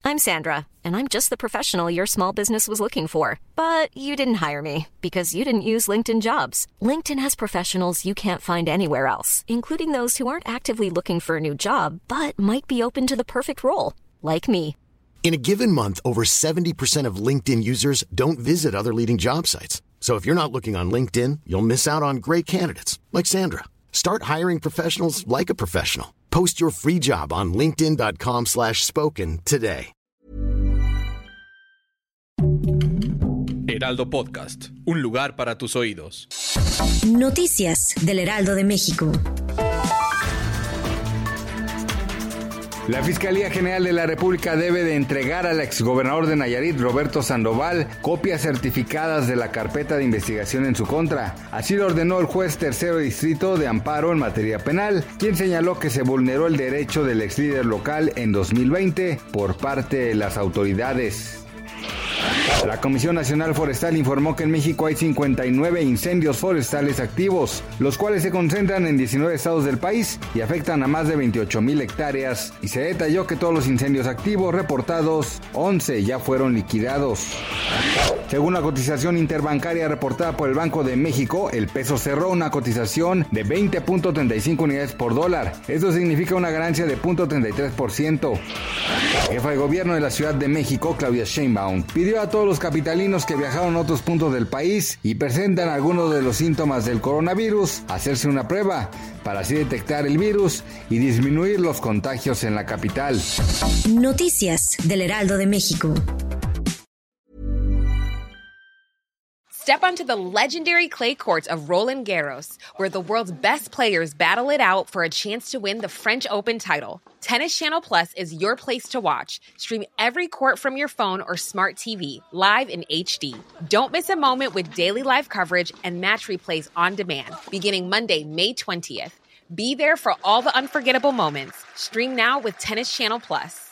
I'm Sandra, and I'm just the professional your small business was looking for. But you didn't hire me because you didn't use LinkedIn Jobs. LinkedIn has professionals you can't find anywhere else, including those who aren't actively looking for a new job, but might be open to the perfect role, like me. In a given month, over 70% of LinkedIn users don't visit other leading job sites. So if you're not looking on LinkedIn, you'll miss out on great candidates like Sandra. Start hiring professionals like a professional. Post your free job on linkedin.com/spoken today. Heraldo Podcast, un lugar para tus oídos. Noticias del Heraldo de México. La Fiscalía General de la República debe de entregar al exgobernador de Nayarit, Roberto Sandoval, copias certificadas de la carpeta de investigación en su contra. Así lo ordenó el juez tercero distrito de amparo en materia penal, quien señaló que se vulneró el derecho del exlíder local en 2020 por parte de las autoridades. La Comisión Nacional Forestal informó que en México hay 59 incendios forestales activos, los cuales se concentran en 19 estados del país y afectan a más de 28,000 hectáreas, y se detalló que todos los incendios activos reportados, 11 ya fueron liquidados. Según la cotización interbancaria reportada por el Banco de México, el peso cerró una cotización de 20.35 unidades por dólar. Esto significa una ganancia de 0.33%. La jefa de gobierno de la Ciudad de México, Claudia Sheinbaum, pidió a todos los capitalinos que viajaron a otros puntos del país y presentan algunos de los síntomas del coronavirus hacerse una prueba para así detectar el virus y disminuir los contagios en la capital. Noticias del Heraldo de México. Step onto the legendary clay courts of Roland Garros, where the world's best players battle it out for a chance to win the French Open title. Tennis Channel Plus is your place to watch. Stream every court from your phone or smart TV, live in HD. Don't miss a moment with daily live coverage and match replays on demand, beginning Monday, May 20th. Be there for all the unforgettable moments. Stream now with Tennis Channel Plus.